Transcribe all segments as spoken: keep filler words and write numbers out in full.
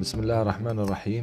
بسم الله الرحمن الرحيم.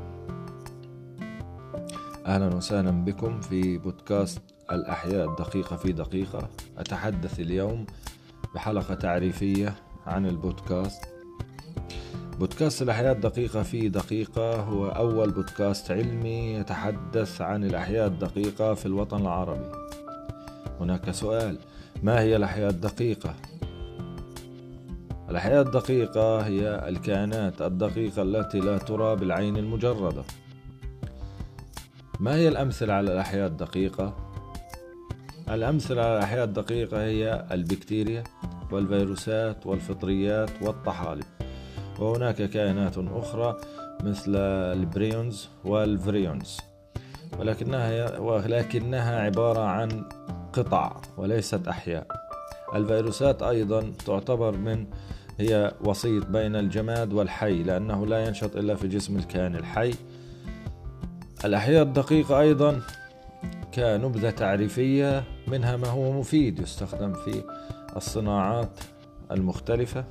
أهلا وسهلا بكم في بودكاست الأحياء الدقيقة في دقيقة. أتحدث اليوم بحلقة تعريفية عن البودكاست. بودكاست الأحياء الدقيقة في دقيقة هو أول بودكاست علمي يتحدث عن الأحياء الدقيقة في الوطن العربي. هناك سؤال: ما هي الأحياء الدقيقة؟ الأحياء الدقيقة هي الكائنات الدقيقة التي لا ترى بالعين المجردة. ما هي الأمثلة على الأحياء الدقيقة؟ الأمثلة على الأحياء الدقيقة هي البكتيريا والفيروسات والفطريات والطحالب، وهناك كائنات أخرى مثل البريونز والفريونز، ولكنها ولكنها عبارة عن قطع وليست أحياء. الفيروسات أيضا تعتبر من هي وسيط بين الجماد والحي، لأنه لا ينشط إلا في جسم الكائن الحي. الأحياء الدقيقة أيضا كنبذة تعريفية، منها ما هو مفيد يستخدم في الصناعات المختلفة،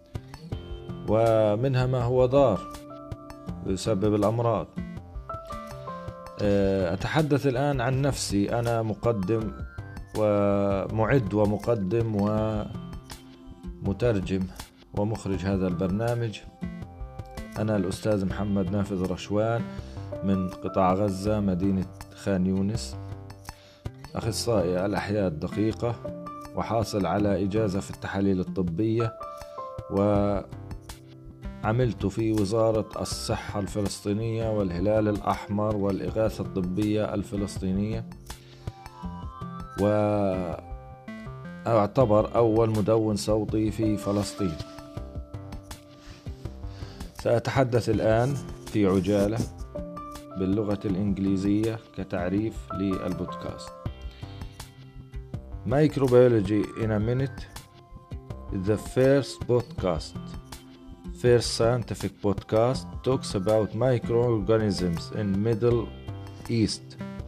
ومنها ما هو ضار يسبب الأمراض. أتحدث الآن عن نفسي. أنا مقدم ومعد ومقدم ومترجم ومخرج هذا البرنامج. أنا الأستاذ محمد نافذ رشوان من قطاع غزة مدينة خان يونس، أخصائي الأحياء الدقيقة، وحاصل على إجازة في التحاليل الطبية، وعملت في وزارة الصحة الفلسطينية والهلال الأحمر والإغاثة الطبية الفلسطينية، وأعتبر أول مدون صوتي في فلسطين. سأتحدث الآن في عجالة باللغة الإنجليزية كتعريف للبودكاست. Microbiology in a minute is the first podcast, first scientific podcast talks about microorganisms in Middle East.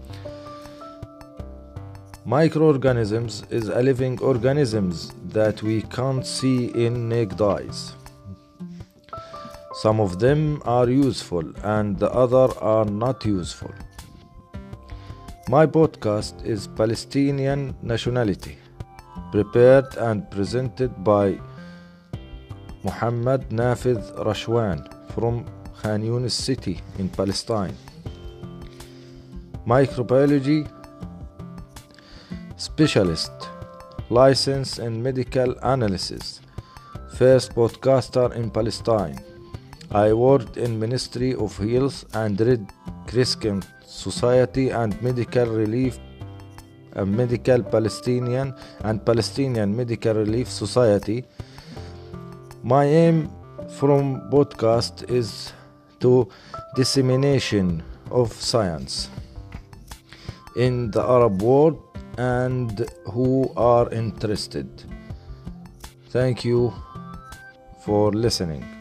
Microorganisms is a living organisms that we can't see in naked eyes. Some of them are useful and the other are not useful. My podcast is Palestinian nationality, prepared and presented by Muhammad Nafidh Rashwan from Khan Yunis city in Palestine. Microbiology specialist, licensed in medical analysis, first podcaster in Palestine. I worked in Ministry of Health and Red Crescent Society and Medical Relief and Medical Palestinian and Palestinian Medical Relief Society. My aim from podcast is to dissemination of science in the Arab world and who are interested. Thank you for listening.